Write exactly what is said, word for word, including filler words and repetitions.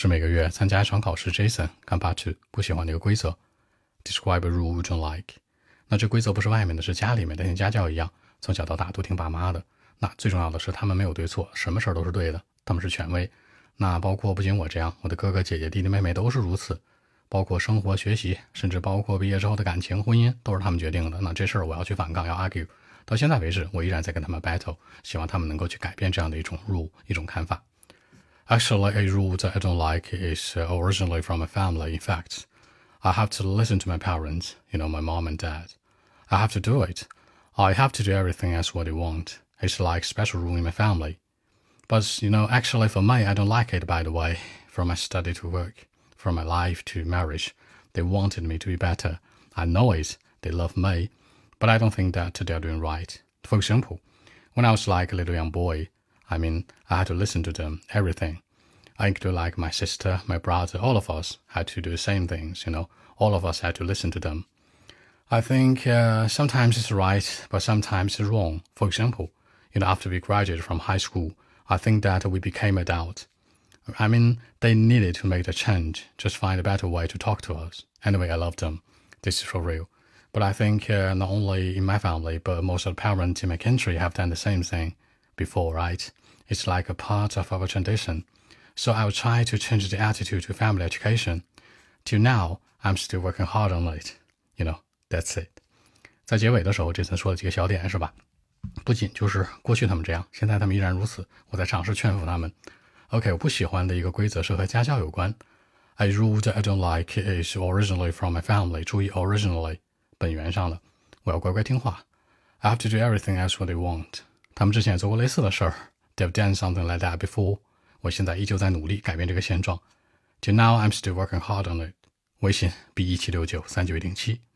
是每个月参加一场考试 Jason 看 Part two 不喜欢的一个规则 Describe a rule you don't like。 那这规则不是外面的，是家里面的，像家教一样，从小到大都听爸妈的。那最重要的是他们没有对错，什么事儿都是对的，他们是权威。那包括不仅我这样，我的哥哥姐姐弟弟妹妹都是如此，包括生活学习，甚至包括毕业之后的感情婚姻，都是他们决定的。那这事儿我要去反抗，要 argue， 到现在为止我依然在跟他们 battle， 希望他们能够去改变这样的一种 rule， 一种看法。Actually, a rule that I don't like is uh, originally from my family. In fact, I have to listen to my parents, you know, my mom and dad. I have to do it. I have to do everything as what they want. It's like special rule in my family. But, you know, actually for me, I don't like it, by the way. From my study to work, from my life to marriage, they wanted me to be better. I know it. They love me. But I don't think that they're doing right. For example, when I was like a little young boy, I mean, I had to listen to them, everything. I include like my sister, my brother, all of us had to do the same things, you know. All of us had to listen to them. I think uh, sometimes it's right, but sometimes it's wrong. For example, you know, after we graduated from high school, I think that we became adult. I mean, they needed to make the change, just find a better way to talk to us. Anyway, I love them. This is for real. But I think uh, not only in my family, but most of the parents in my country have done the same thing before, right? It's like a part of our tradition. So I will try to change the attitude to family education. Till now, I'm still working hard on it. You know, that's it. 在结尾的时候，这次说了几个小点，是吧？不仅就是过去他们这样，现在他们依然如此。我在尝试劝服他们。OK， 我不喜欢的一个规则是和家教有关。A rule that I don't like is originally from my family. 注意 originally， 本源上的。我要乖乖听话。I have to do everything as what they want. 他们之前也做过类似的事儿。They've done something like that before. 我现在依旧在努力改变这个现状。Till now, I'm still working hard on it. 微信 b 一七六九三九一零七。